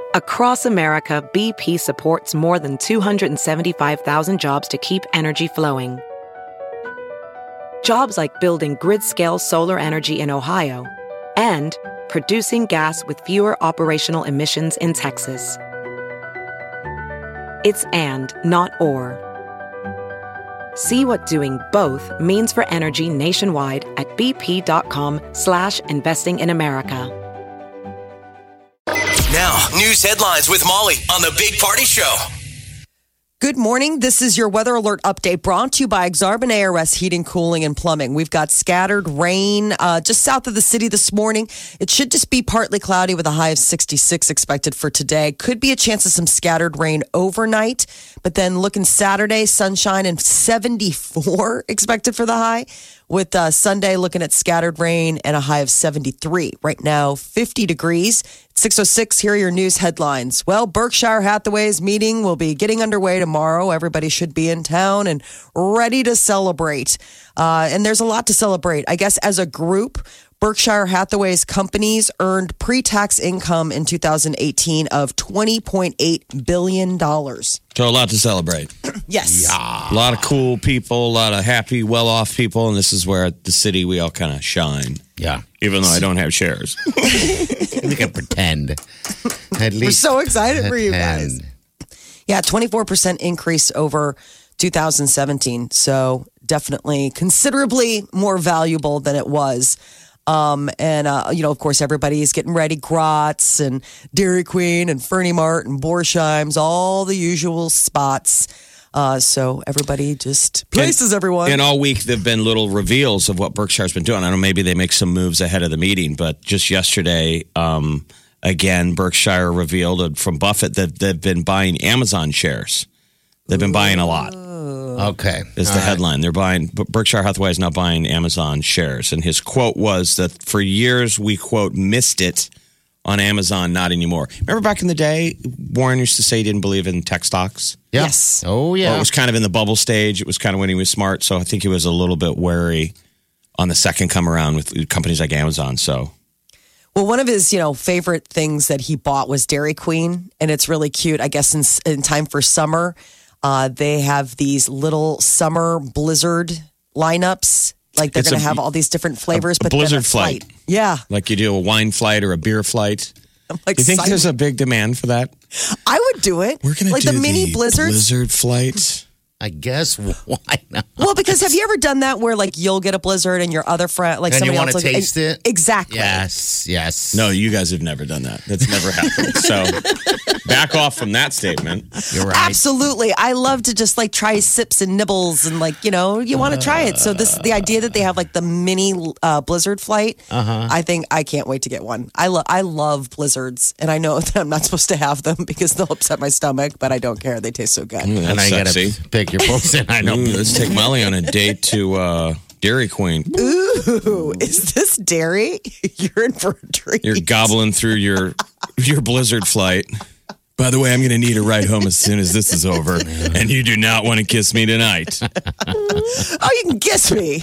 Across America, BP supports more than 275,000 jobs to keep energy flowing. Jobs like building grid-scale solar energy in Ohio and producing gas with fewer operational emissions in Texas. It's and, not or. See what doing both means for energy nationwide at bp.com/investing in America. Now, news headlines with Molly on the Big Party Show. Good morning. This is your weather alert update brought to you by Exarban ARS Heating, Cooling, and Plumbing. We've got scattered rain just south of the city this morning. It should just be partly cloudy with a high of 66 expected for today. Could be a chance of some scattered rain overnight, but then looking Saturday, sunshine and 74 expected for the high. With Sunday looking at scattered rain and a high of 73. Right now, 50 degrees. 6:06, here are your news headlines. Well, Berkshire Hathaway's meeting will be getting underway tomorrow. Everybody should be in town and ready to celebrate. And there's a lot to celebrate. I guess as a group, Berkshire Hathaway's companies earned pre-tax income in 2018 of $20.8 billion. So a lot to celebrate. Yes. Yeah. A lot of cool people, a lot of happy, well-off people, and this is where at the city we all kind of shine. Yeah. Even though I don't have shares. We can pretend. At least We're so excited for you guys. Yeah, 24% increase over 2017. So definitely considerably more valuable than it was. Of course, everybody's getting ready. Gratz and Dairy Queen and Fernie Mart and Borsheim's, all the usual spots. So everybody just places everyone. And all week, there've been little reveals of what Berkshire's been doing. I don't know, maybe they make some moves ahead of the meeting, but just yesterday, again, Berkshire revealed from Buffett that they've been buying Amazon shares. They've been buying a lot. Okay. Is the headline. They're buying, Berkshire Hathaway is now buying Amazon shares. And his quote was that for years we, quote, missed it on Amazon, not anymore. Remember back in the day, Warren used to say he didn't believe in tech stocks? Yeah. Yes. Oh, yeah. Well, it was kind of in the bubble stage. It was kind of when he was smart. So I think he was a little bit wary on the second come around with companies like Amazon. So. Well, one of his, favorite things that he bought was Dairy Queen. And it's really cute. I guess in time for summer, they have these little summer blizzard lineups. Like they're going to have all these different flavors, but blizzard flight. Yeah. Like you do a wine flight or a beer flight. Like, you think there's a big demand for that? I would do it. We're going to do the mini blizzards. Blizzard flight. I guess why not? Well, because have you ever done that where like you'll get a blizzard and your other friend, like and somebody you want else, to taste it? Exactly. Yes. No, you guys have never done that. That's never happened. So back off from that statement. You're right. Absolutely. I love to just like try sips and nibbles and like, you want to try it. So the idea that they have like the mini blizzard flight, I think I can't wait to get one. I love blizzards and I know that I'm not supposed to have them because they'll upset my stomach, but I don't care. They taste so good. And I got to pick your poison. I know. Let's take Molly on a date to Dairy Queen. Ooh, is this dairy? You're in for a treat. You're gobbling through your blizzard flight. By the way, I'm going to need a ride home as soon as this is over. And you do not want to kiss me tonight. Oh, you can kiss me.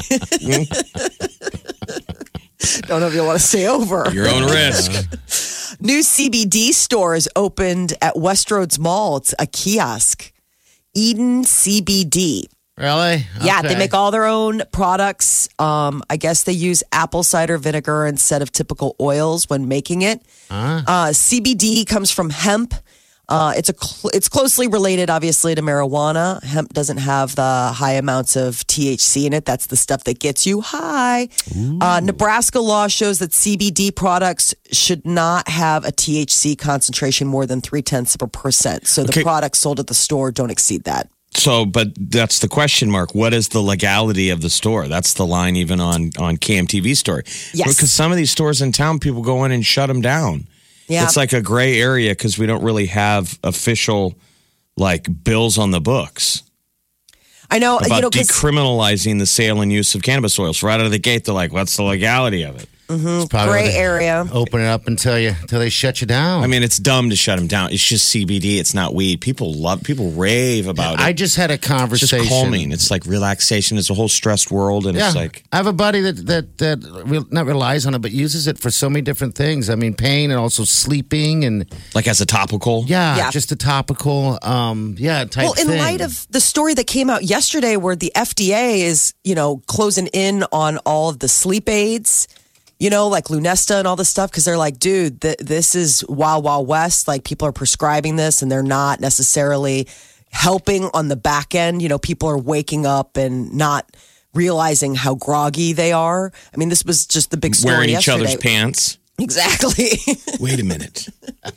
Don't know if you want to stay over. Your own risk. New CBD store is opened at Westroads Mall. It's a kiosk. Eden CBD. Really? Yeah, Okay. they make all their own products. I guess they use apple cider vinegar instead of typical oils when making it. CBD comes from hemp. It's closely related, obviously, to marijuana. Hemp doesn't have the high amounts of THC in it. That's the stuff that gets you high. Nebraska law shows that CBD products should not have a THC concentration more than 0.3%. So the products sold at the store don't exceed that. So, but that's the question mark. What is the legality of the store? That's the line even on KMTV story. Yes. Because some of these stores in town, people go in and shut them down. Yeah. It's like a gray area because we don't really have official bills on the books. I know. About decriminalizing the sale and use of cannabis oils. Right out of the gate, they're like, what's the legality of it? It's probably Gray where they area. Open it up until they shut you down. I mean, it's dumb to shut them down. It's just CBD. It's not weed. People rave about it. I just had a It's conversation. just calming. It's like relaxation. It's a whole stressed world, and Yeah, it's like I have a buddy that not relies on it, but uses it for so many different things. I mean, pain and also sleeping and as a topical. Yeah. just a topical, type Well, in thing. light of the story that came out yesterday where the FDA is, closing in on all of the sleep aids, like Lunesta and all this stuff, because they're like, dude, this is Wild Wild West. Like, people are prescribing this and they're not necessarily helping on the back end. People are waking up and not realizing how groggy they are. I mean, this was just the big story Wearing each yesterday. other's pants. Exactly. Wait a minute.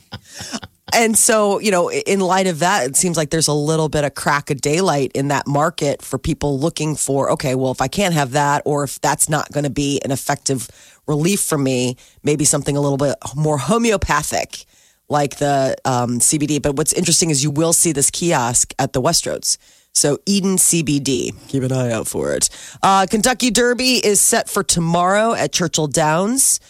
And so, in light of that, it seems like there's a little bit of crack of daylight in that market for people looking for, okay, well, if I can't have that, or if that's not going to be an effective relief for me, maybe something a little bit more homeopathic like the CBD. But what's interesting is you will see this kiosk at the Westroads. So Eden CBD, keep an eye out for it. Kentucky Derby is set for tomorrow at Churchill Downs.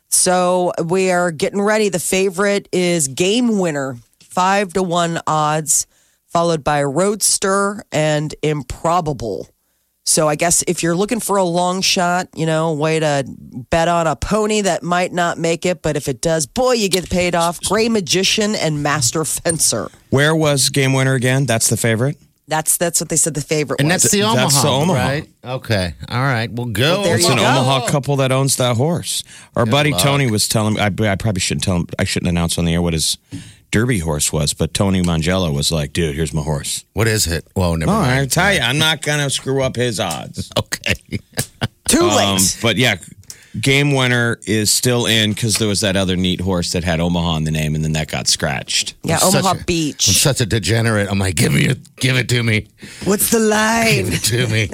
So we are getting ready. The favorite is Game Winner, 5-1 odds, followed by Roadster and Improbable. So I guess if you're looking for a long shot, way to bet on a pony that might not make it, but if it does, boy, you get paid off. Gray Magician and Master Fencer. Where was Game Winner again? That's the favorite? That's what they said the favorite and was. that's the Omaha, That's the Omaha. right? Okay, all right, we'll go. Well, there It's you an go. Omaha couple that owns that horse. Our buddy luck. Tony was telling me, I probably shouldn't tell him, I shouldn't announce on the air what his Derby horse was, but Tony Mangello was like, dude, here's my horse. What is it? Whoa, never Oh, I mind. tell you, I'm not going to screw up his odds. Okay. Too late. But yeah, Game Winner is still in because there was that other neat horse that had Omaha in the name, and then that got scratched. Yeah, I'm Omaha such a- Beach. I'm such a degenerate. I'm like, give it to me. What's the line? Give it to me.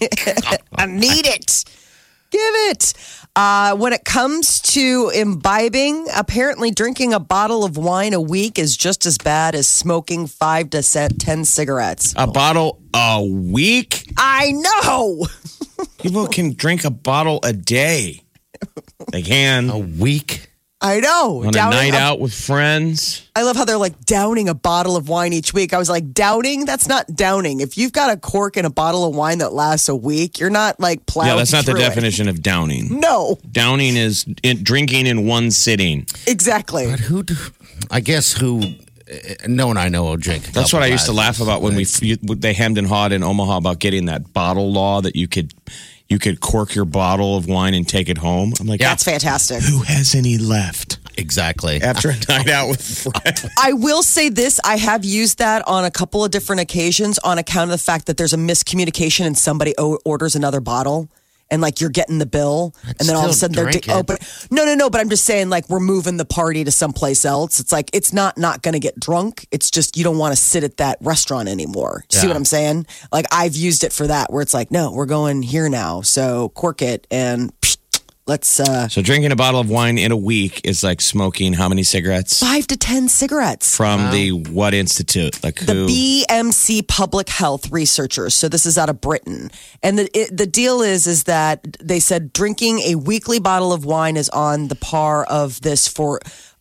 I need it. Give it. When it comes to imbibing, apparently drinking a bottle of wine a week is just as bad as smoking 5 to 10 cigarettes. A bottle a week? I know. People can drink a bottle a day. They can. A week. I know. On a night out with friends. I love how they're like downing a bottle of wine each week. I was like, downing? That's not downing. If you've got a cork in a bottle of wine that lasts a week, you're not like plowing Yeah, that's not the through it. definition of downing. No, Downing is drinking in one sitting. exactly. I guess who. No one I know will drink. That's what I used to laugh about when they hemmed and hawed in Omaha about getting that bottle law that you could cork your bottle of wine and take it home. I'm like, That's fantastic. who has any left Exactly. after a night out with friends? I will say this. I have used that on a couple of different occasions on account of the fact that there's a miscommunication and somebody orders another bottle and like you're getting the bill and then all of a still sudden they're drink it. open. No. But I'm just saying like we're moving the party to someplace else. It's like it's not going to get drunk. It's just you don't want to sit at that restaurant anymore. See Yeah. what I'm saying? Like I've used it for that where it's like, no, we're going here now. So cork it and let's So drinking a bottle of wine in a week is like smoking how many cigarettes? 5 to 10 cigarettes. From the what institute? Like The who? BMC Public Health researchers. So this is out of Britain, and the deal is that they said drinking a weekly bottle of wine is on the par of this for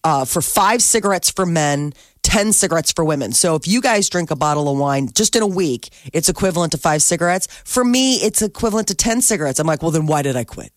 5 cigarettes for men. 10 cigarettes for women. So if you guys drink a bottle of wine just in a week, it's equivalent to 5 cigarettes. For me, it's equivalent to 10 cigarettes. I'm like, well, then why did I quit?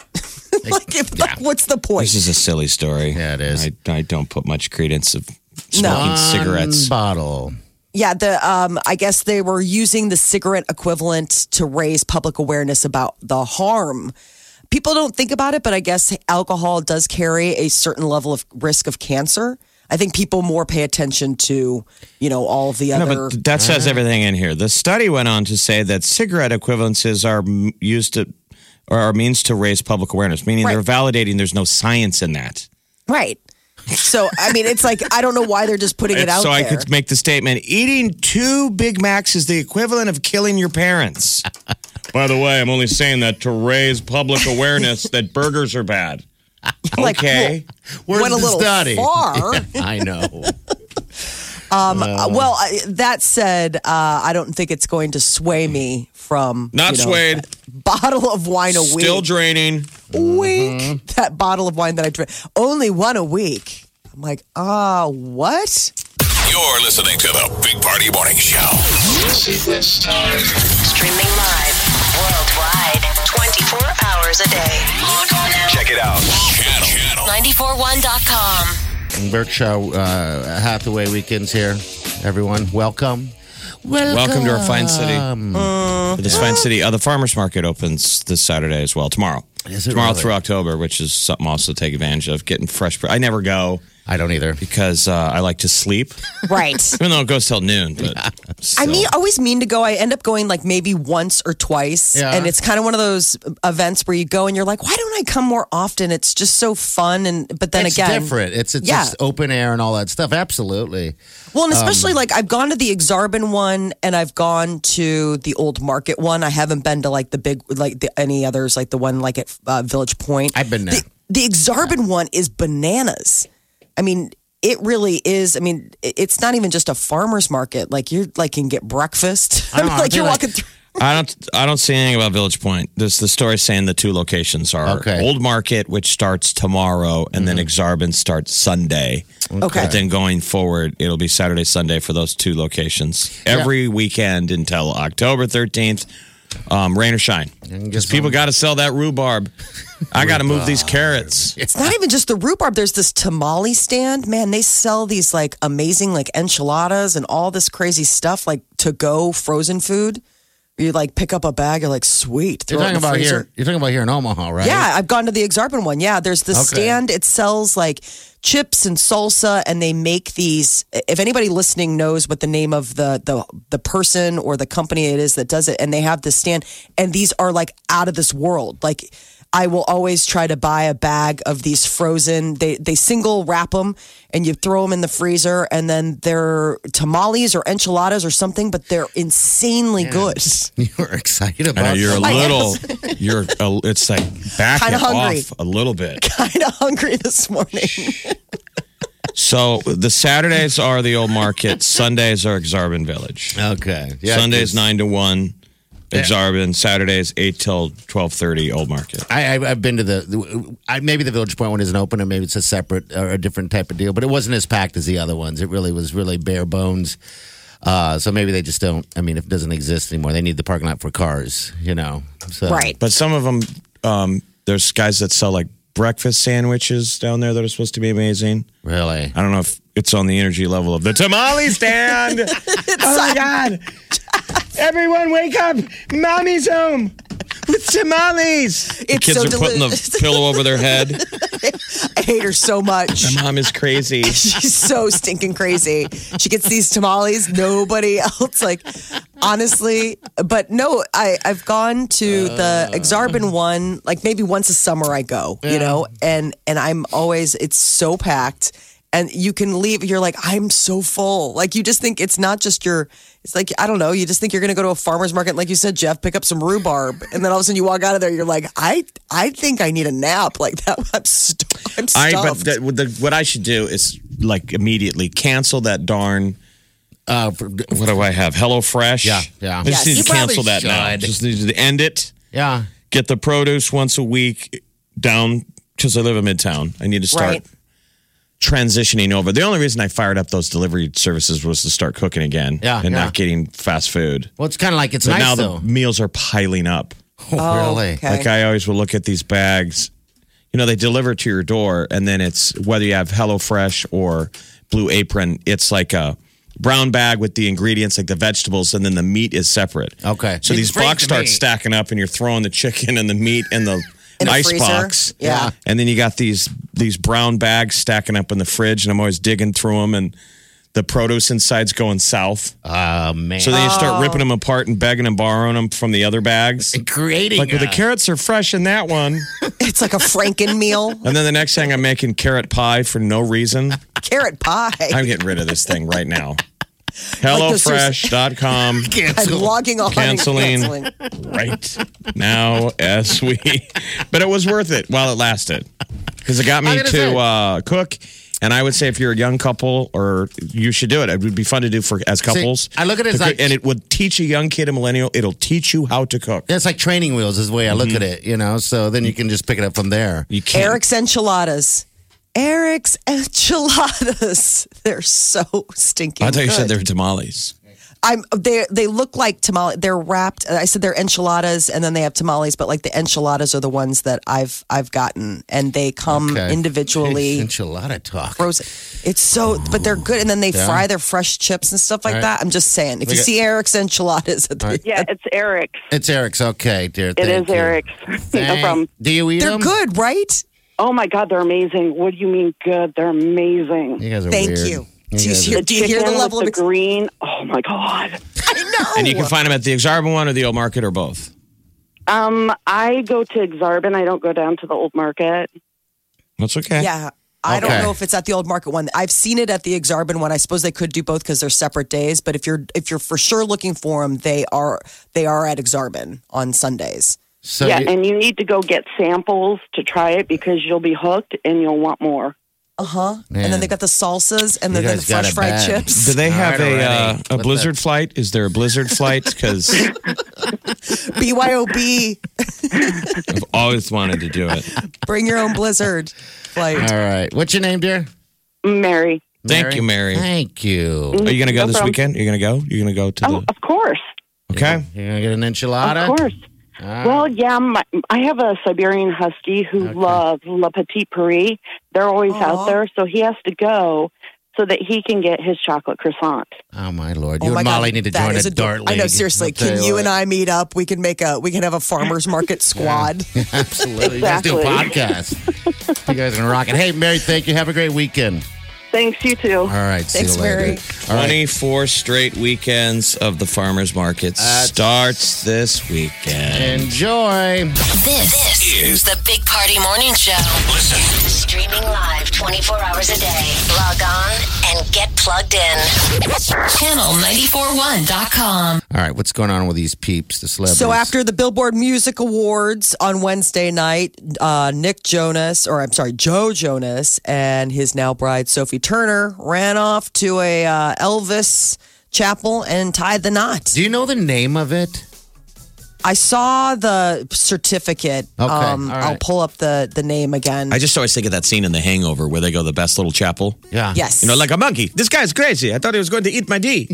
What's the point? This is a silly story. Yeah, it is. I don't put much credence of smoking cigarettes. Bottle. Yeah, I guess they were using the cigarette equivalent to raise public awareness about the harm. People don't think about it, but I guess alcohol does carry a certain level of risk of cancer. I think people more pay attention to, all of the No, other. but that says everything in here. The study went on to say that cigarette equivalences are used to, or are means to raise public awareness, meaning Right. they're validating there's no science in that. Right. So, I mean, it's like, I don't know why they're just putting it out So there. I could make the statement, eating 2 Big Macs is the equivalent of killing your parents. By the way, I'm only saying that to raise public awareness that burgers are bad. Like, Okay. Where's went a the little study? far. I know. That said, I don't think it's going to sway me from Not swayed. Bottle of wine a week. Still draining. Week. That bottle of wine that I drink. Only one a week. I'm like, what? You're listening to the Big Party Morning Show. Streaming live worldwide 24 hours a day. Log on now. Check it out. Channel. 941.com. Berkshire Hathaway weekends here. Everyone, welcome. Welcome to our fine city. This fine city. The farmers market opens this Saturday as well. Tomorrow. Is it Tomorrow really? through October, which is something also to take advantage of. Getting fresh. I never go I don't either. because I like to sleep, Right. even though it goes till noon. But still. Always mean to go. I end up going like maybe once or twice. Yeah. And it's kind of one of those events where you go and you're like, why don't I come more often? It's just so fun. But then It's again, different. It's Yeah. just open air and all that stuff. Absolutely. well, and especially like I've gone to the Exarban one and I've gone to the Old Market one. I haven't been to like the big, any others, like the one like at Village Point. I've been there. The Exarban one is bananas. I mean, it really is. I mean, it's not even just a farmer's market. Like you can get breakfast. I know, like you're walking through. I don't see anything about Village Point. There's the story saying the two locations are Okay. Old Market, which starts tomorrow, and then Exarban starts Sunday. Okay. But then going forward, it'll be Saturday, Sunday for those two locations. Every weekend until October 13th, rain or shine. Because people got to sell that rhubarb. I got to move these carrots. It's not even just the rhubarb. There's this tamale stand. Man, they sell these like amazing like enchiladas and all this crazy stuff like to go frozen food. You like pick up a bag, you're like, sweet. You're throw it in talking the about freezer. here. You're talking about here in Omaha, right? Yeah, I've gone to the Exarban one. Yeah, there's this Okay. stand. It sells like chips and salsa, and they make these. If anybody listening knows what the name of the person or the company it is that does it, and they have this stand, and these are like out of this world. Like I will always try to buy a bag of these frozen. They single wrap them, and you throw them in the freezer, and then they're tamales or enchiladas or something, but they're insanely good. You're excited about I know you're a I am. little, it's like back Kinda it hungry. off a little bit. Kind of hungry this morning. So the Saturdays are the Old Market. Sundays are Exarban Village. Okay. Yeah, Sundays 'cause 9 to 1, Exarban. Saturdays 8 till 12:30, Old Market. I've been to maybe the Village Point one isn't open, or maybe it's a separate or a different type of deal, but it wasn't as packed as the other ones. It really was bare bones. So maybe they just don't. I mean, if it doesn't exist anymore, they need the parking lot for cars. So. Right. But some of them, there's guys that sell like breakfast sandwiches down there that are supposed to be amazing. Really. I don't know if it's on the energy level of the tamale stand. Oh my God. Everyone wake up. Mommy's home with tamales. The It's kids so are putting delicious. the pillow over their head. I hate her so much. My mom is crazy. She's so stinking crazy. She gets these tamales. Nobody else, like, honestly. But no, I've gone to the Exarban one, like maybe once a summer I go, and I'm always, it's so packed. And you can leave, you're like, I'm so full. Like, you just think it's not just it's like, I don't know, you just think you're going to go to a farmer's market, like you said, Jeff, pick up some rhubarb. And then all of a sudden you walk out of there, you're like, I think I need a nap. Like that, I'm stuffed. What I should do is like immediately cancel that darn. What do I have? HelloFresh. Yeah. I just Yes. need You to cancel probably that now. should. Just need to end it. Yeah. Get the produce once a week down because I live in Midtown. I need to start Right. transitioning over. The only reason I fired up those delivery services was to start cooking again. Yeah, and yeah. not getting fast food. Well, it's kind of like it's But nice now though. the meals are piling up. Really. Okay. Like I always will look at these bags. They deliver to your door, and then it's whether you have HelloFresh or Blue Apron. It's like a brown bag with the ingredients, like the vegetables, and then the meat is separate. Okay. So You these freak boxes the start meat. stacking up, and you're throwing the chicken and the meat and the In the ice freezer? box. Yeah. And then you got these brown bags stacking up in the fridge, and I'm always digging through them, and the produce inside's going south. Oh man. So then you start ripping them apart and begging and borrowing them from the other bags. creating Like, well, the carrots are fresh in that one. It's like a Franken meal. And then the next thing I'm making carrot pie for no reason. Carrot pie. I'm getting rid of this thing right now. HelloFresh.com I'm logging on Canceling. and canceling. right now as we. But it was worth it while it lasted because it got me I'm gonna to cook And I would say if you're a young couple, or you should do it. It would be fun to do for as couples. I look at it as and it would teach a young kid, a millennial. It'll teach you how to cook. Yeah, it's like training wheels is the way I look at it, So then you can just pick it up from there. You can't. Eric's enchiladas. Eric's enchiladas. They're so stinking. I thought you said good. they were tamales. They look like tamales. They're wrapped. I said they're enchiladas, and then they have tamales. But like the enchiladas are the ones that I've gotten, and they come individually. Enchilada talk. Frozen. It's so, but they're good, and then they fry their fresh chips and stuff like that. I'm just saying, if you see Eric's enchiladas, Yeah, it's Eric's. It's Eric's. Okay, dear. It is Eric's. No problem. Do you eat they're them? good, right? Oh my God, they're amazing. What do you mean good? They're amazing. You guys are Thank weird. you. You Do you guys hear, are- do you hear the level with of the green? Oh my God. I know. And you can find them at the Exarban one or the Old Market or both. I go to Exarban. I don't go down to the old market. That's okay. Yeah. I don't know if it's at the Old Market one. I've seen it at the Exarban one. I suppose they could do both because they're separate days. But if you're for sure looking for them, they are at Exarban on Sundays. So yeah, you- and you need to go get samples to try it because you'll be hooked and you'll want more. And Man. then they got the salsas and then the guys got fresh it fried bad. chips. Do they have All right, already. a What blizzard flight? Is there a blizzard flight? Because BYOB, I've always wanted to do it. bring your own blizzard flight. All right. What's your name, dear? Mary. Thank you, Mary. Thank you. Are you going to go No this problem. weekend? You're going to go? You're going to go to Oh, of course. Okay. You're going to get an enchilada? Of course. Well, yeah, I have a Siberian Husky who loves La Petite Paris. They're always out there, so he has to go so that he can get his chocolate croissant. Oh, my Lord. Oh You my and God, Molly need to that join is a dart league. I know, seriously. I'll tell Can you what. and I meet up? We can have a farmer's market squad. Absolutely. You guys do a podcast. You guys are going to rock it. Hey, Mary, thank you. Have a great weekend. Thanks, you too. All right. Thanks, see you later. Mary. All right. 24 straight weekends of the farmers market starts this weekend. Enjoy. This is the Big Party Morning Show. Listen. Streaming live 24 hours a day. Log on and get plugged in. Channel941.com. All right. What's going on with these peeps, the celebrities? So after the Billboard Music Awards on Wednesday night, Joe Jonas and his now bride Sophie Turner ran off to a Elvis chapel and tied the knot. Do you know the name of it? I saw the certificate. Okay, all right. I'll pull up the name again. I just always think of that scene in The Hangover where they go to the best little chapel. Yeah. Yes. You know, like a monkey. This guy's crazy. I thought he was going to eat my D.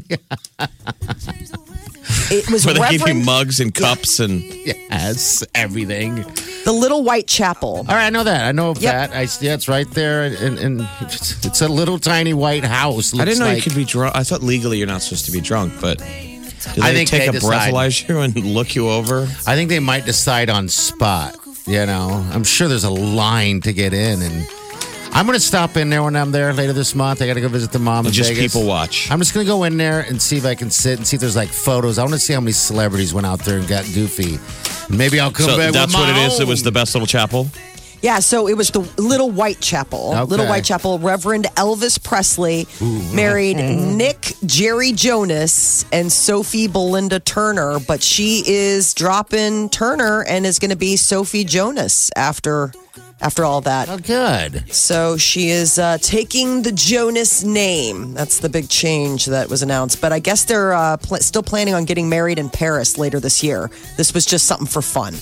It was Where they give you Reverend mugs and cups and Yes. Everything. the Little White Chapel. All right. I know that. I know of Yep. that. Yeah, it's right there. And it's a little tiny white house. I didn't know Looks you could be drunk. I thought legally you're not supposed to be drunk, but do I they think take they a decide. breathalyzer and look you over? I think they might decide on spot. I'm sure there's a line to get in, and I'm going to stop in there when I'm there later this month. I got to go visit the mom in Just Vegas. people watch. I'm just going to go in there and see if I can sit and see if there's like photos. I want to see how many celebrities went out there and got goofy. And maybe I'll come So back that's with what my it is. It own. was the best little chapel. Yeah, so it was the Little White Chapel. Okay. Little White Chapel. Reverend Elvis Presley married Nick Jerry Jonas and Sophie Belinda Turner, but she is dropping Turner and is going to be Sophie Jonas after all that. Oh, good. So she is taking the Jonas name. That's the big change that was announced. But I guess they're still planning on getting married in Paris later this year. This was just something for fun.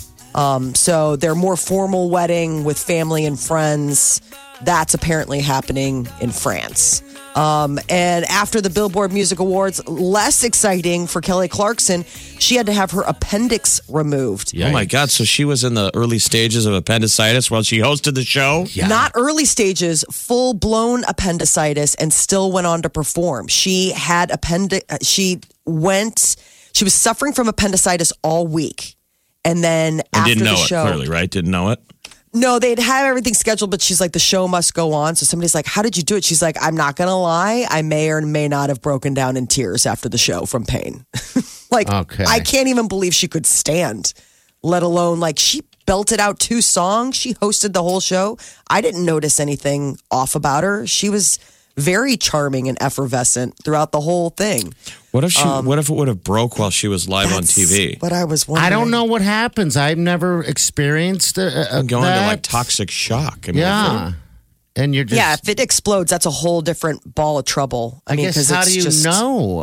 So their more formal wedding with family and friends, that's apparently happening in France. And after the Billboard Music Awards, less exciting for Kelly Clarkson, she had to have her appendix removed. Oh my God. So she was in the early stages of appendicitis while she hosted the show? Yeah. Not early stages, full blown appendicitis, and still went on to perform. She had she was suffering from appendicitis all week. And then I after didn't know the it, show, clearly, right? Didn't know it? no, they'd have everything scheduled, but she's like, the show must go on. So somebody's like, how did you do it? She's like, I'm not going to lie. I may or may not have broken down in tears after the show from pain. Okay. I can't even believe she could stand, let alone she belted out 2 songs. She hosted the whole show. I didn't notice anything off about her. She was very charming and effervescent throughout the whole thing. What if it would have broke while she was live on TV? But I was wondering. I don't know what happens. I've never experienced And going that. into toxic shock. I mean, Yeah. and you're just Yeah, if it explodes, that's a whole different ball of trouble. I mean, guess 'cause how it's do you just, know?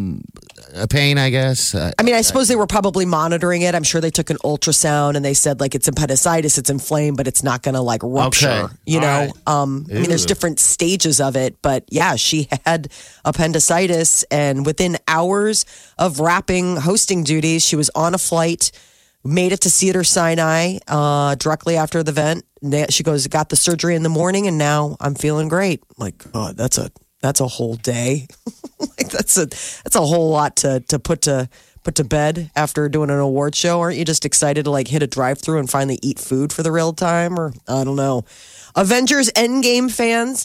A pain, I guess. I mean, I suppose they were probably monitoring it. I'm sure they took an ultrasound and they said like it's appendicitis, it's inflamed, but it's not going to like rupture. Okay. You All know, right. I mean, there's Ew. different stages of it, but yeah, she had appendicitis, and within hours of wrapping hosting duties, she was on a flight, made it to Cedars-Sinai directly after the event. She goes, got the surgery in the morning, and now I'm feeling great. I'm like, oh, that's a whole day. Like that's a whole lot to put to bed after doing an award show. Aren't you just excited to like hit a drive-through and finally eat food for the real time? Or I don't know. Avengers Endgame fans,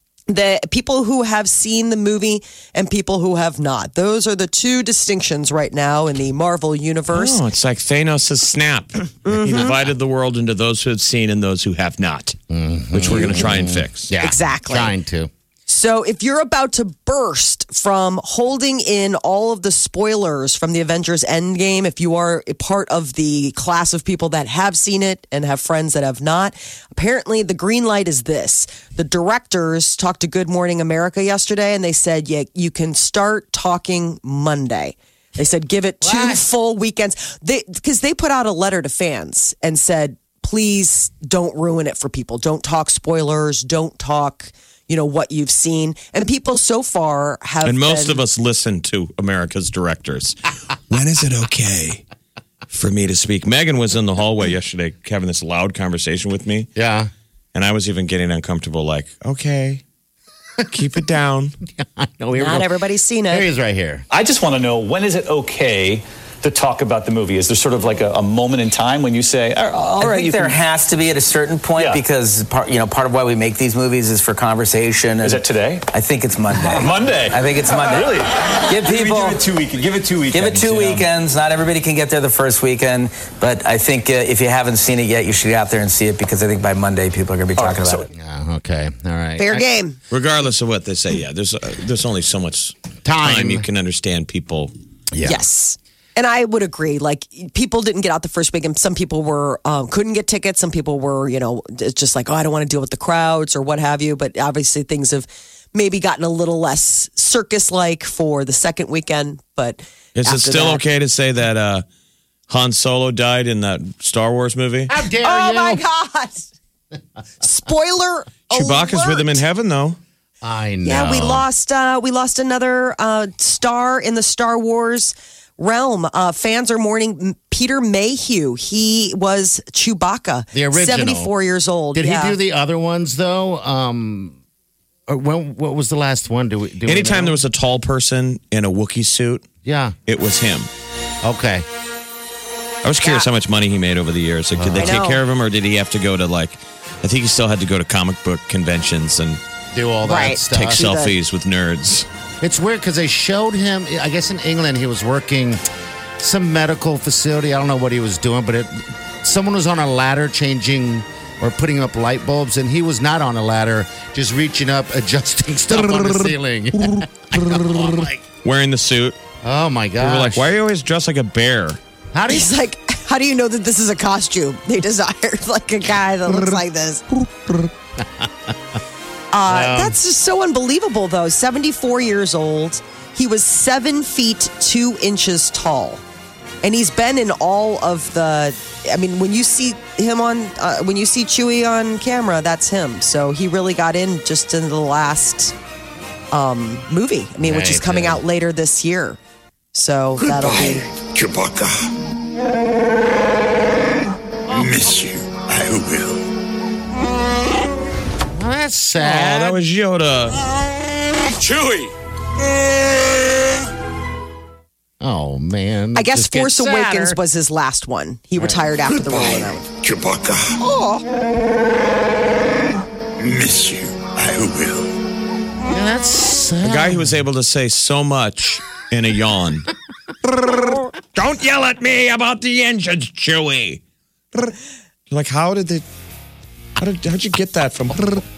the people who have seen the movie and people who have not. Those are the two distinctions right now in the Marvel universe. Oh, it's like Thanos' snap. He divided the world into those who have seen and those who have not, which we're going to try and fix. yeah, Exactly. trying to. So if you're about to burst from holding in all of the spoilers from the Avengers Endgame, if you are a part of the class of people that have seen it and have friends that have not, apparently the green light is this. The directors talked to Good Morning America yesterday, and they said, yeah, you can start talking Monday. They said, give it 2 full weekends. Because they put out a letter to fans and said, please don't ruin it for people. Don't talk spoilers. Don't talk what you've seen. And people so far have And most been- of us listen to America's directors. When is it okay for me to speak? Megan was in the hallway yesterday having this loud conversation with me. Yeah. And I was even getting uncomfortable, like, okay, keep it down. No, here we not go. everybody's seen Here he it. is right here. I just want to know, when is it okay to talk about the movie? Is there sort of like a moment in time when you say, all I right, think you there can... has to be at a certain point Yeah. because part of why we make these movies is for conversation. Is it today? I think it's Monday. Monday. I think it's Monday. Really? Give people. Give it 2 weekends. Give it 2 weekends. Give it two weekends. Not everybody can get there the first weekend, but I think if you haven't seen it yet, you should get out there and see it because I think by Monday people are going to be talking about it. Yeah, okay. All right. Fair game. Regardless of what they say, yeah, there's only so much Time. you can understand people. Yeah. Yes. And I would agree. Like, people didn't get out the first weekend. Some people were couldn't get tickets. Some people were, it's just like, oh, I don't want to deal with the crowds or what have you. But obviously, things have maybe gotten a little less circus-like for the second weekend. But Is it after still that- okay to say that Han Solo died in that Star Wars movie? How dare Oh you? my God! Spoiler! Chewbacca's with him in alert. heaven, though. I know. Yeah, we lost another star in the Star Wars realm. Fans are mourning Peter Mayhew. He was Chewbacca, The original. 74 years old. Did yeah. he do the other ones though? Or what was the last one? Do we Anytime know? there was a tall person in a Wookiee suit, Yeah. it was him. Okay. I was curious how much money he made over the years. Like, did they I take know. care of him, or did he have to go to I think he still had to go to comic book conventions and Do all that Right. stuff. take selfies with nerds. It's weird because they showed him. I guess in England he was working some medical facility. I don't know what he was doing, but someone was on a ladder changing or putting up light bulbs, and he was not on a ladder, just reaching up, adjusting stuff on the ceiling. Wearing the suit. Oh my We god! were like, why are you always dressed like a bear? How do you? He's like, how do you know that this is a costume? They desired like a guy that looks like this. That's just so unbelievable, though. 74 years old. He was 7 feet 2 inches tall. And he's been in all of the. I mean, when you see him when you see Chewie on camera, that's him. So he really got in just in the last movie. I mean, which is coming out later this year. So that'll be. Chewbacca. Miss you. I will. Well, that's Oh, sad. that was Yoda. Chewie. Oh man! I guess Just gets Force Awakens sadder. was his last one. He retired after the role of that one. Chewbacca. Miss you. I will. Yeah, that's sad. The guy who was able to say so much in a yawn. Don't yell at me about the engines, Chewie. Like, how'd you get that from?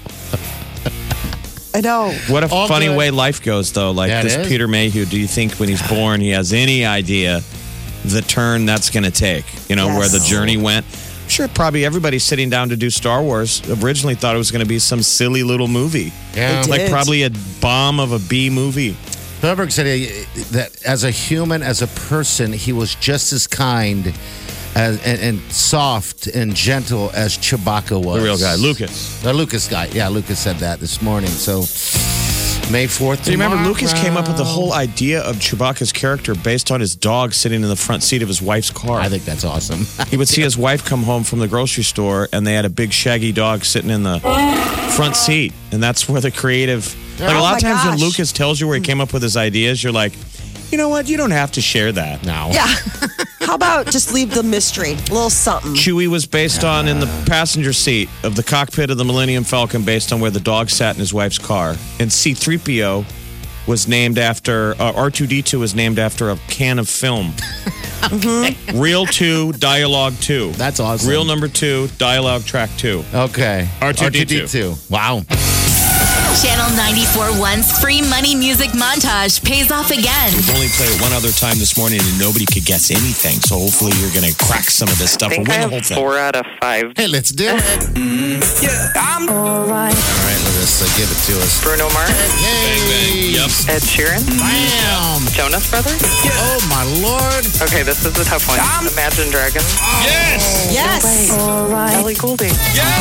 I know. What a All funny good. way life goes, though. Like, Yeah, it this is. Peter Mayhew, do you think when he's born he has any idea the turn that's going to take? You know, Yes. where the journey went? sure probably everybody sitting down to do Star Wars originally thought it was going to be some silly little movie. Yeah. They Like did. probably a bomb of a B movie. Spielberg said that as a human, as a person, he was just as kind and soft and gentle as Chewbacca was. The real guy, Lucas. The Lucas guy. Yeah, Lucas said that this morning. So May 4th. Do you remember Lucas came up with the whole idea of Chewbacca's character based on his dog sitting in the front seat of his wife's car? I think that's awesome. He would see his wife come home from the grocery store, and they had a big shaggy dog sitting in the front seat, and that's where the creative. Like a lot of Oh my times when gosh. Lucas tells you where he came up with his ideas, you're like, you know what? You don't have to share that. No. Yeah. How about just leave the mystery? A little something. Chewie was based on in the passenger seat of the cockpit of the Millennium Falcon, based on where the dog sat in his wife's car, and C-3PO was named after R2D2 was named after a can of film. Reel 2, dialogue 2. That's awesome. Reel number 2, dialogue track 2. Okay. R2D2. Wow. Channel 94.1's free money music montage pays off again. We've only played it one other time this morning, and nobody could guess anything. So hopefully you're going to crack some of this stuff and win the whole thing. 4 out of 5. Hey, let's do it. I'm all right. All right, Larissa, give it to us. Bruno Mars, Hey. Yep. Ed Sheeran, Bam. Jonas Brothers. Oh, my Lord. Okay, this is a tough one. Imagine Dragons. Yes! Yes. All right. Ellie Goulding.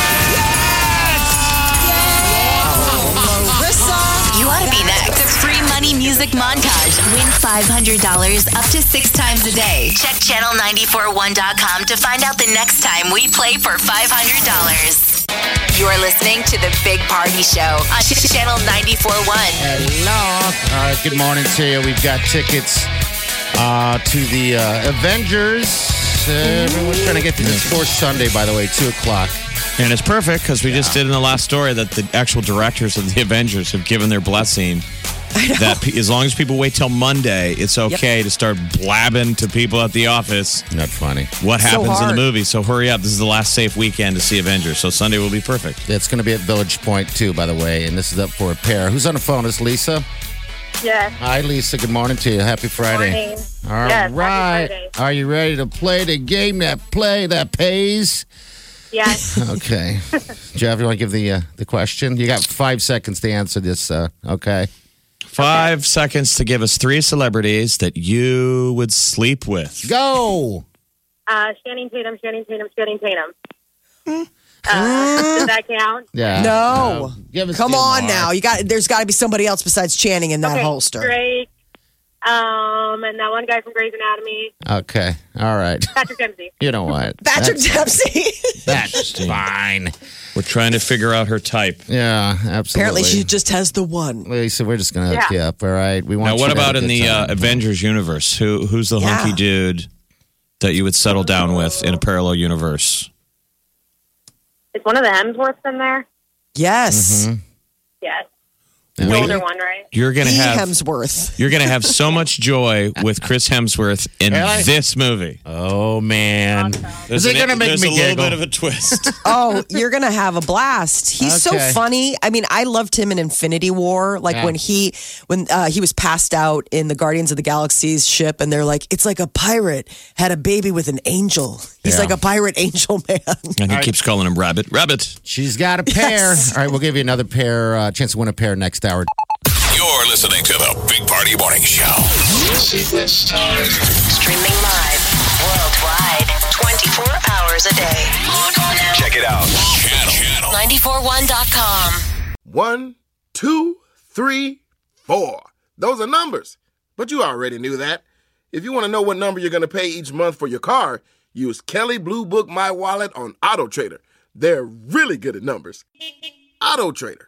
You ought to be next. The free money music montage. Win $500 up to 6 times a day. Check channel941.com to find out the next time we play for $500. You're listening to the Big Party Show on Channel 94.1. Hello. All right, good morning to you. We've got tickets to the Avengers. Everyone's trying to get to this Sports Sunday, by the way, 2 o'clock. And it's perfect because we just did in the last story that the actual directors of the Avengers have given their blessing that as long as people wait till Monday, it's okay to start blabbing to people at the office Not funny. what So happens in the hard. movie. So hurry up. This is the last safe weekend to see Avengers. So Sunday will be perfect. It's going to be at Village Point, too, by the way, and this is up for a pair. Who's on the phone? It's Lisa. Yes. Hi, Lisa. Good morning to you. Happy Friday. Morning. All Yes, happy right. Friday. Are you ready to play the game that pays? Yes. Okay. Jeff, you want to give the question? You got 5 seconds to answer this, okay? 5 seconds to give us 3 celebrities that you would sleep with. Go! Channing Tatum. Does that count? Yeah. No. Give us Come two on more. now. There's got to be somebody else besides Channing in that Okay, holster. Drake. And that one guy from Grey's Anatomy. Okay. All right. Patrick Dempsey. You know what? Patrick Dempsey. That's fine. We're trying to figure out her type. Yeah, absolutely. Apparently, she just has the one. Lisa, we're just going to hook you up, all right? We want Now, you what to have about a in good the time. Avengers universe? Who's the Yeah. hunky dude that you would settle down with in a parallel universe? Is one of the Hemsworths in there? Yes. Mm-hmm. Yes. The Wait. older one, right? You're gonna The have Hemsworth. You're gonna have so much joy with Chris Hemsworth in Really? this movie. Oh, man. There's Is it going to make there's me a little giggle? bit of a twist. Oh, you're going to have a blast. He's so Okay. funny. I mean, I loved him in Infinity War. Like Yeah. when he was passed out in the Guardians of the Galaxy's ship and they're like, it's like a pirate had a baby with an angel. He's Yeah. like a pirate angel man. And he keeps calling him Rabbit. Rabbit. She's got a pair. Yes. All right, we'll give you another pair, chance to win a pair next hour. You're listening to the Big Party Morning Show. Streaming live worldwide 24 hours a day. Log on now. Check it out. Channel. 941.com. 1, 2, 3, 4. Those are numbers. But you already knew that. If you want to know what number you're going to pay each month for your car, use Kelly Blue Book My Wallet on Auto Trader. They're really good at numbers. Auto Trader.